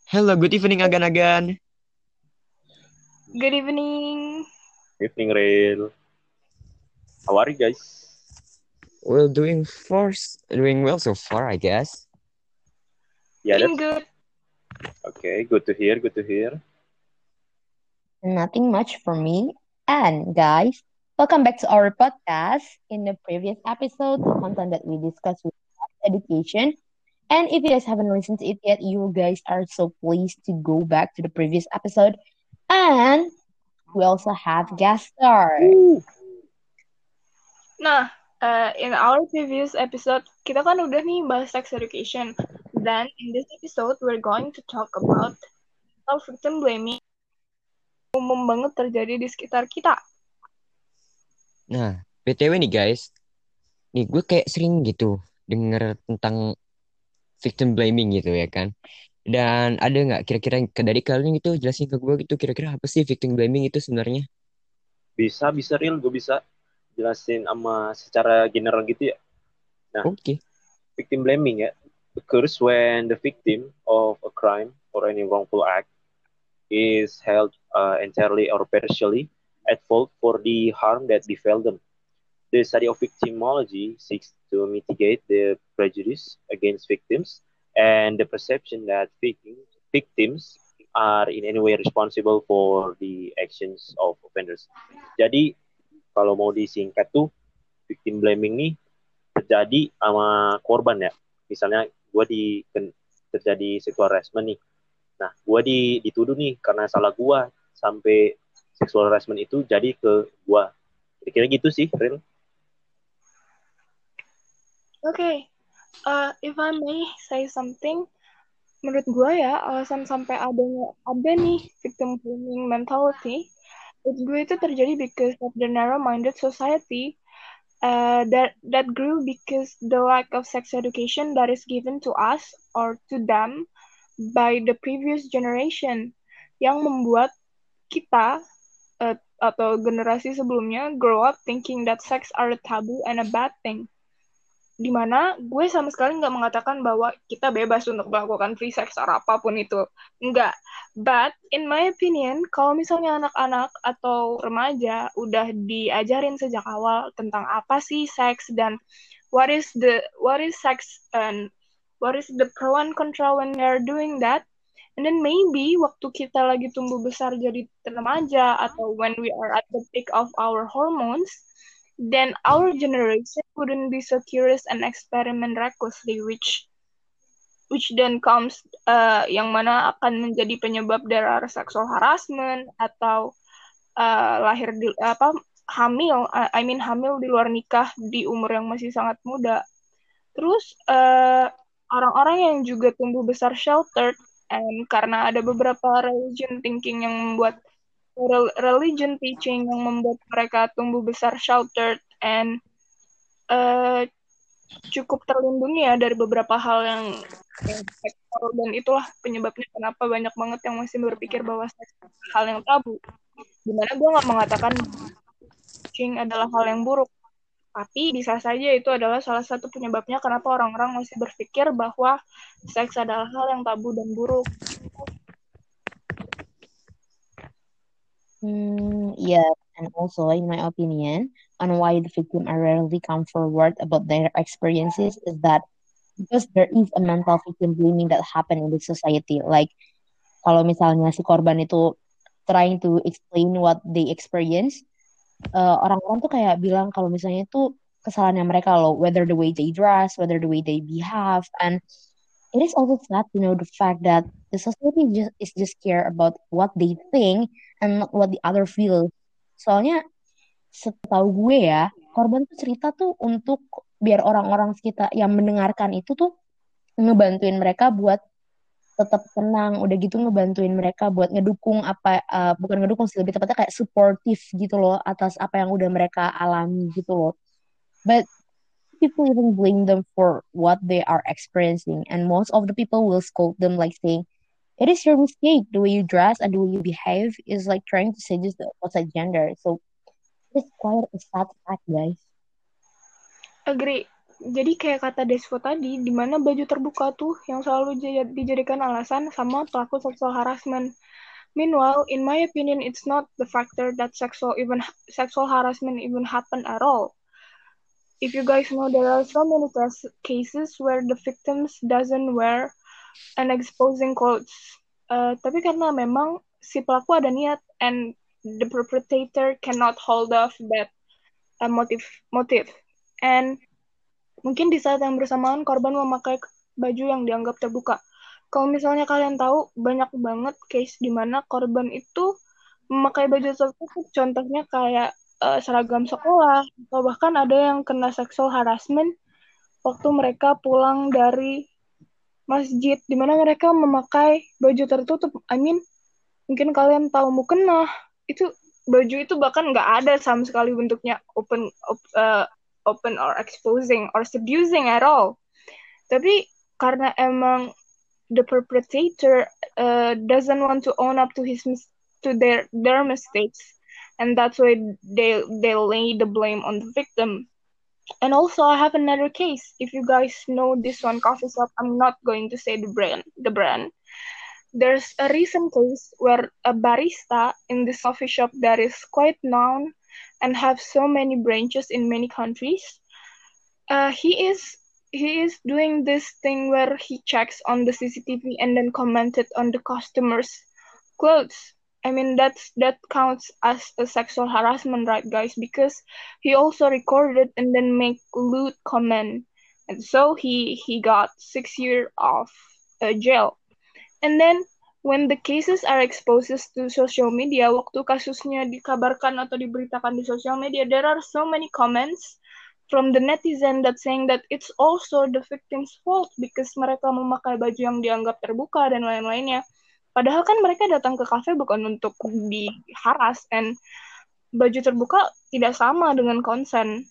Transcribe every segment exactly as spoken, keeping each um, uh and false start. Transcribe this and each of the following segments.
Hello, good evening agan-agan. Good evening. Evening, Rail. How are you guys? Well, doing first, doing well so far, I guess. Yeah, Doing that's good. okay. Good to hear. Good to hear. Nothing much for me. And guys, welcome back to our podcast. In the previous episode, the content that we discussed was education. And if you guys haven't listened to it yet, you guys are so pleased to go back to the previous episode. And we also have guest star. Woo. Nah, uh, in our previous episode, kita kan udah nih bahas sex education. Then, in this episode, we're going to talk about how victim blaming umum banget terjadi di sekitar kita. Nah, B T W nih guys, nih gue kayak sering gitu denger tentang victim blaming gitu ya kan. Dan ada nggak kira-kira ke- dari kalian gitu jelasin ke gue gitu kira-kira apa sih victim blaming itu sebenarnya? Bisa, bisa, Real. Gue bisa jelasin sama secara general gitu ya. Nah, Oke. victim blaming ya occurs when the victim of a crime or any wrongful act is held uh, entirely or partially at fault for the harm that befell them. The study of victimology seeks to mitigate the prejudice against victims and the perception that victims, victims are in any way responsible for the actions of offenders. Jadi kalau mau disingkat tuh victim blaming nih terjadi sama korban ya. Misalnya gue di terjadi sexual harassment nih. Nah, gue di, dituduh nih karena salah gue sampai sexual harassment itu jadi ke gue. Kira-kira gitu sih, Real. Okay, uh, if I may say something, menurut gue ya, alasan sampai adanya ada nih victim blaming mentality, menurut gue itu terjadi because of the narrow-minded society uh, that that grew because the lack of sex education that is given to us or to them by the previous generation yang membuat kita uh, atau generasi sebelumnya grow up thinking that sex are a taboo and a bad thing. Dimana gue sama sekali nggak mengatakan bahwa kita bebas untuk melakukan free sex atau apapun itu. Enggak. But in my opinion, kalau misalnya anak-anak atau remaja udah diajarin sejak awal tentang apa sih seks dan what is the what is sex and what is the pro and contra when we are doing that, and then maybe waktu kita lagi tumbuh besar jadi remaja atau when we are at the peak of our hormones, then our generation wouldn't be so curious and experiment recklessly, which which then comes uh, yang mana akan menjadi penyebab dari sexual harassment atau uh, lahir di apa hamil uh, I mean hamil di luar nikah di umur yang masih sangat muda. Terus uh, orang-orang yang juga tumbuh besar sheltered and karena ada beberapa religion thinking yang membuat religion teaching yang membuat mereka tumbuh besar sheltered and uh, cukup terlindungi ya dari beberapa hal yang, yang seksual, dan itulah penyebabnya kenapa banyak banget yang masih berpikir bahwa seks hal yang tabu. Dimana gue nggak mengatakan teaching adalah hal yang buruk, tapi bisa saja itu adalah salah satu penyebabnya kenapa orang-orang masih berpikir bahwa seks adalah hal yang tabu dan buruk. Hmm, yeah, and also in my opinion, on why the victim are rarely come forward about their experiences is that because there is a mental victim blaming that happen in the society. Like kalau misalnya si korban itu trying to explain what they experience, uh, orang-orang tuh kayak bilang kalau misalnya itu kesalahannya mereka loh, whether the way they dress, whether the way they behave, and it is also sad to know the fact that the society just is just care about what they think and not what the other feel. Soalnya setahu gue ya, korban tuh cerita tuh untuk biar orang-orang sekitar yang mendengarkan itu tuh ngebantuin mereka buat tetap tenang, udah gitu ngebantuin mereka buat ngedukung apa uh, bukan ngedukung sih, lebih tepatnya kayak supportive gitu loh atas apa yang udah mereka alami gitu loh. But people even blame them for what they are experiencing, and most of the people will scold them like saying, "It is your mistake. The way you dress and the way you behave is like trying to seduce the opposite gender." So it's quite a sad fact, guys. Agree. jadi kayak kata Desvo tadi, di mana baju terbuka tuh yang selalu dijadikan alasan sama pelaku sexual harassment. Meanwhile, in my opinion, it's not the factor that sexual even sexual harassment even happen at all. If you guys know, there are so many cases where the victims doesn't wear an exposing clothes. Uh, tapi karena memang si pelaku ada niat and the perpetrator cannot hold off that uh, motive motive. And mungkin di saat yang bersamaan korban memakai baju yang dianggap terbuka. Kalau misalnya kalian tahu, banyak banget case di mana korban itu memakai baju tertutup, contohnya kayak uh, seragam sekolah, atau bahkan ada yang kena sexual harassment waktu mereka pulang dari masjid, di mana mereka memakai baju tertutup. I mean, mungkin kalian tahu mukena, itu baju itu bahkan nggak ada sama sekali bentuknya open, op, uh, open or exposing or seducing at all. Tapi karena emang the perpetrator uh, doesn't want to own up to his to their their mistakes, and that's why they they lay the blame on the victim. And also, I have another case. If you guys know this one coffee shop, I'm not going to say the brand. The brand. There's a recent case where a barista in this coffee shop that is quite known and have so many branches in many countries. Uh, he is he is doing this thing where he checks on the C C T V and then commented on the customers' clothes. I mean, that's that counts as a sexual harassment, right, guys? Because he also recorded and then make lewd comment, and so he he got six years of uh, jail. And then when the cases are exposed to social media, waktu kasusnya dikabarkan atau diberitakan di sosial media, there are so many comments from the netizen that saying that it's also the victim's fault because mereka memakai baju yang dianggap terbuka dan lain-lainnya. Padahal kan mereka datang ke kafe bukan untuk diharas, and baju terbuka tidak sama dengan konsen.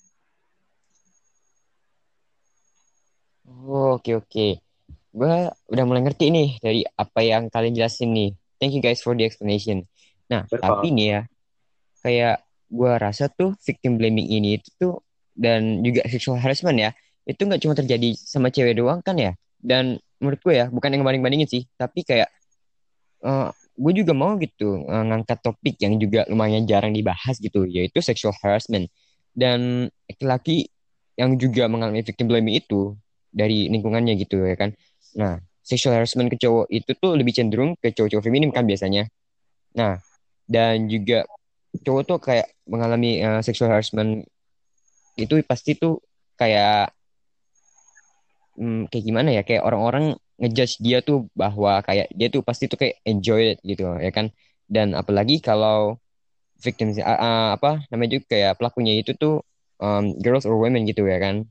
Oh, oke oke. Gue udah mulai ngerti nih dari apa yang kalian jelasin nih. Thank you guys for the explanation. Nah, tapi nih ya, kayak gue rasa tuh victim blaming ini itu tuh dan juga sexual harassment ya, itu nggak cuma terjadi sama cewek doang kan ya. Dan menurut gue ya, bukan yang banding-bandingin sih, tapi kayak uh, gue juga mau gitu uh, ngangkat topik yang juga lumayan jarang dibahas gitu, yaitu sexual harassment. Dan laki-laki yang juga mengalami victim blaming itu dari lingkungannya gitu ya kan. Nah, sexual harassment ke cowok itu tuh lebih cenderung ke cowok-cowok feminim kan biasanya. Nah, dan juga cowok tuh kayak mengalami uh, sexual harassment itu pasti tuh kayak hmm, kayak gimana ya, kayak orang-orang ngejudge dia tuh bahwa kayak dia tuh pasti tuh kayak enjoy it gitu ya kan. Dan apalagi kalau victim uh, uh, apa namanya juga kayak pelakunya itu tuh um, girls or women gitu ya kan.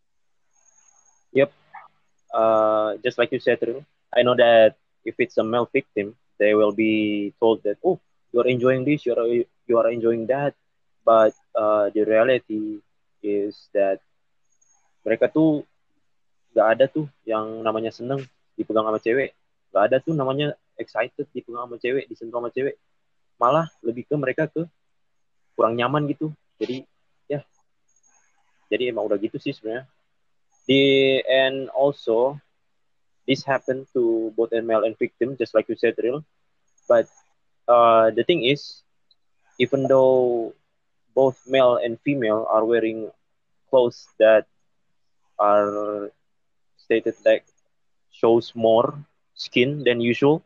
Yep. Uh, just like you said, I know that if it's a male victim, they will be told that, oh, you are enjoying this, you are you are enjoying that, but uh, the reality is that mereka tuh gak ada tuh yang namanya seneng dipegang sama cewek, gak ada tuh namanya excited dipegang sama cewek, disentuh sama cewek, malah lebih ke mereka ke kurang nyaman gitu. Jadi ya, jadi emang udah gitu sih sebenarnya. The and also this happened to both a male and victim, just like you said, Ril. But uh, the thing is, even though both male and female are wearing clothes that are stated like shows more skin than usual,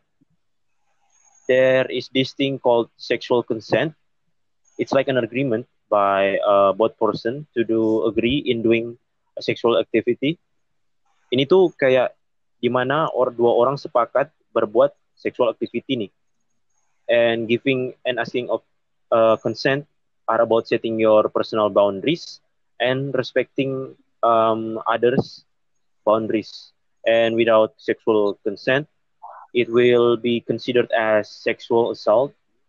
there is this thing called sexual consent. It's like an agreement by uh, both person to do agree in doing a sexual activity. Ini tuh kayak dimana or dua orang sepakat berbuat sexual activity nih, and giving and asking of uh, consent are about setting your personal boundaries and respecting um, others' boundaries. And without sexual consent, it will be considered as sexual assault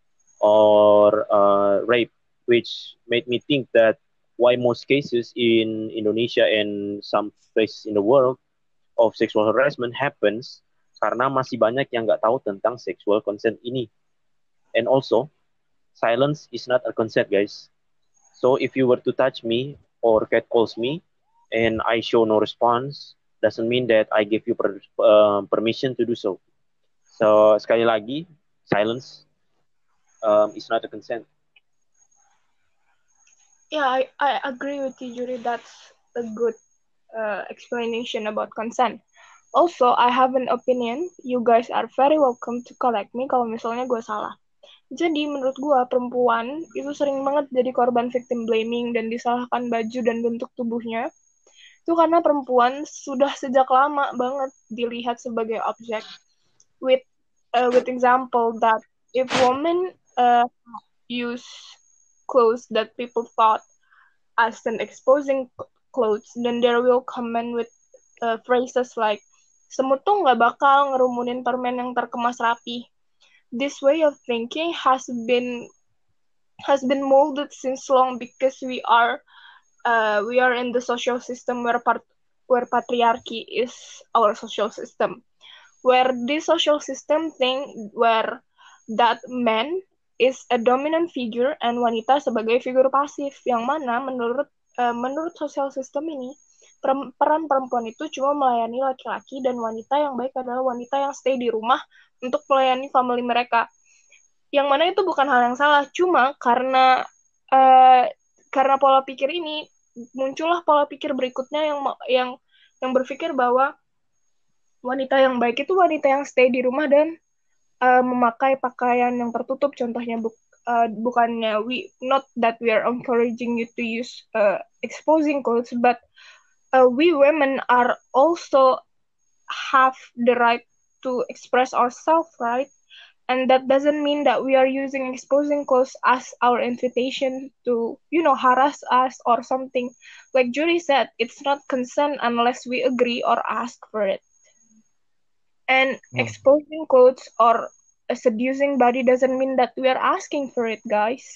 or uh, rape, which made me think that why most cases in Indonesia and some places in the world of sexual harassment happens karena masih banyak yang nggak tahu tentang sexual consent ini. And also, silence is not a consent, guys. So if you were to touch me or catcalls me and I show no response, doesn't mean that I give you per, uh, permission to do so. So sekali lagi, silence um, is not a consent. Yeah, I, I agree with you, Juri. That's a good uh, explanation about consent. Also, I have an opinion. You guys are very welcome to correct me kalau misalnya gue salah. Jadi menurut gue perempuan itu sering banget jadi korban victim blaming dan disalahkan baju dan bentuk tubuhnya. Itu karena perempuan sudah sejak lama banget dilihat sebagai objek. With uh, with example that if women uh, use clothes that people thought as an exposing clothes, then there will comment with uh, phrases like semut tuh nggak bakal ngerumunin permen yang terkemas rapi. This way of thinking has been has been molded since long because we are uh, we are in the social system where part where patriarchy is our social system, where this social system thing where that man is a dominant figure and wanita sebagai figur pasif, yang mana menurut uh, menurut social system ini peran perempuan itu cuma melayani laki-laki dan wanita yang baik adalah wanita yang stay di rumah untuk melayani family mereka. Yang mana itu bukan hal yang salah, cuma karena uh, karena pola pikir ini muncullah pola pikir berikutnya yang yang yang berpikir bahwa wanita yang baik itu wanita yang stay di rumah dan uh, memakai pakaian yang tertutup. Contohnya bu, uh, bukannya we not that we are encouraging you to use uh, exposing clothes, but uh, we women are also have the right to express ourselves, right? And that doesn't mean that we are using exposing clothes as our invitation to, you know, harass us or something. Like Judy said, it's not consent unless we agree or ask for it. And Hmm. exposing clothes or a seducing body doesn't mean that we are asking for it, guys.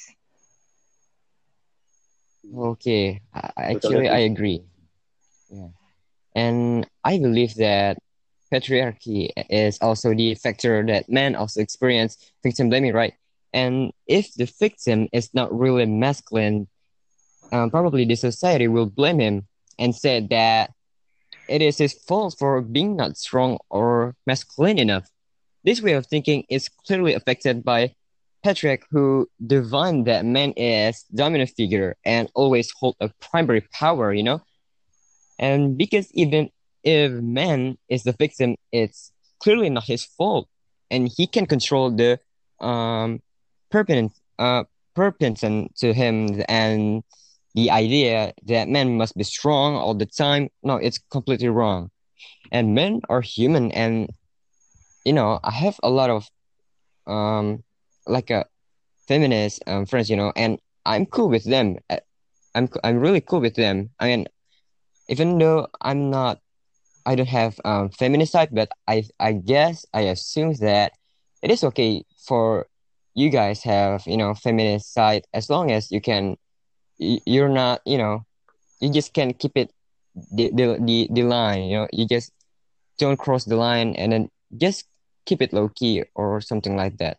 Okay, I- Totally actually, I agree. agree. Yeah. And I believe that patriarchy is also the factor that men also experience victim blaming, right? And if the victim is not really masculine, um, probably the society will blame him and say that it is his fault for being not strong or masculine enough. This way of thinking is clearly affected by patriarch, who define that man is dominant figure and always hold a primary power, you know? And because even if man is the victim, it's clearly not his fault, and he can control the um pertinent uh pertinent to him, and the idea that men must be strong all the time. No, it's completely wrong. And men are human, and you know, I have a lot of um like a feminist um, friends, you know, and I'm cool with them. Uh, I'm I'm really cool with them. I mean, even though I'm not, I don't have um feminist side, but I I guess I assume that it is okay for you guys have, you know, feminist side, as long as you can y- you're not, you know, you just can keep it the the the, the line, you know, you just don't cross the line, and then just keep it low key or something like that.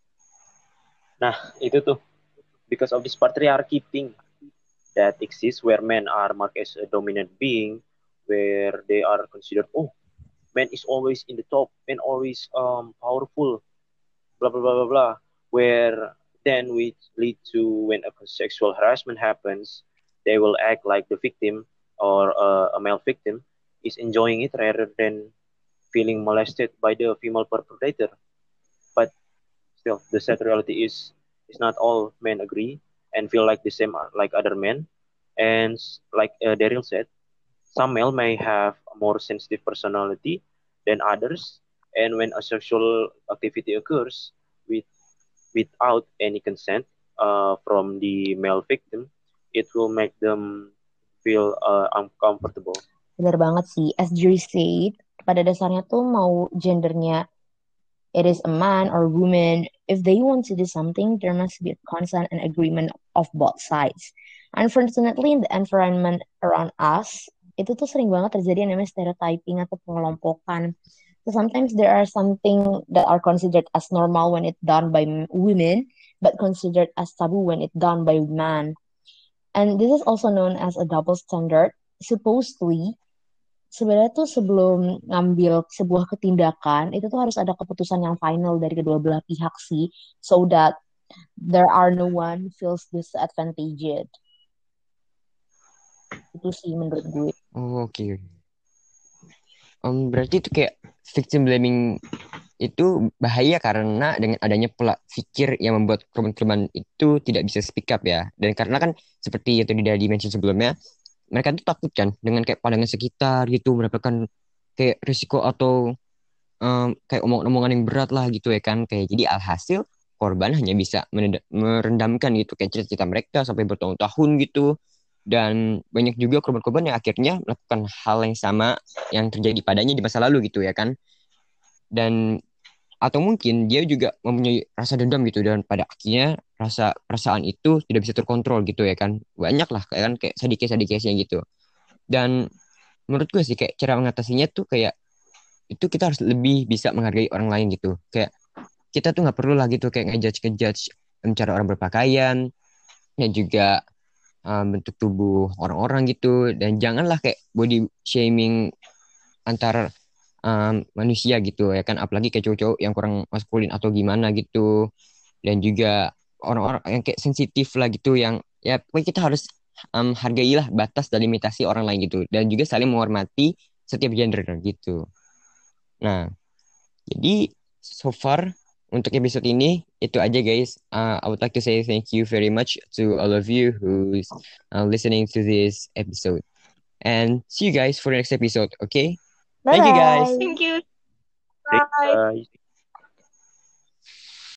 Nah, itu tuh because of this patriarchy thing that exists where men are marked as a dominant being, where they are considered, oh, man is always in the top, man always um powerful, blah blah blah blah blah. Where then we lead to when a sexual harassment happens, they will act like the victim or uh, a male victim is enjoying it rather than feeling molested by the female perpetrator. But still, the sad reality is is not all men agree and feel like the same like other men. And like uh, Daryl said, some male may have a more sensitive personality than others, and when a sexual activity occurs with without any consent uh, from the male victim, it will make them feel uh, uncomfortable. Benar banget sih, as Jerry said, pada dasarnya tuh mau gendernya it is a man or woman, if they want to do something, there must be a consent and agreement of both sides. Unfortunately, in the environment around us, itu tuh sering banget terjadi yang namanya stereotyping atau pengelompokan. So sometimes there are something that are considered as normal when it's done by m- women, but considered as taboo when it's done by man. And this is also known as a double standard. supposedly sebenarnya tuh sebelum ngambil sebuah ketindakan itu tuh harus ada keputusan yang final dari kedua belah pihak sih, so that there are no one feels disadvantaged. Itu sih menurut gue. Oh, oke. Okay. Um, berarti itu kayak victim blaming itu bahaya karena dengan adanya pola pikir yang membuat korban-korban itu tidak bisa speak up ya. Dan karena kan seperti yang tadi di mention sebelumnya, mereka tuh takut kan dengan kayak pandangan sekitar gitu, mendapatkan kayak risiko atau um, kayak omong-omongan yang berat lah gitu ya kan. Kayak jadi alhasil korban hanya bisa meneda- merendamkan gitu kayak cerita-cerita mereka sampai bertahun-tahun gitu. Dan banyak juga korban-korban yang akhirnya melakukan hal yang sama yang terjadi padanya di masa lalu gitu ya kan. Dan atau mungkin dia juga mempunyai rasa dendam gitu dan pada akhirnya rasa perasaan itu tidak bisa terkontrol gitu ya kan. Banyak lah kayak kan kayak sedikit-sedikitnya gitu. Dan menurut gue sih kayak cara mengatasinya tuh kayak itu kita harus lebih bisa menghargai orang lain gitu. Kayak kita tuh nggak perlu lah gitu kayak ngejudge ngejudge cara orang berpakaian dan juga um, bentuk tubuh orang-orang gitu, dan janganlah kayak body shaming antar um, manusia gitu ya kan, apalagi kayak cowok-cowok yang kurang maskulin atau gimana gitu, dan juga orang-orang yang kayak sensitif lah gitu yang ya pokoknya kita harus um, hargailah batas dan limitasi orang lain gitu, dan juga saling menghormati setiap gender gitu. Nah, jadi so far untuk episode ini itu aja guys. Uh, I would like to say thank you very much to all of you who's uh, listening to this episode. And see you guys for the next episode, okay? Thank you guys. Thank you. Thanks, Bye. guys.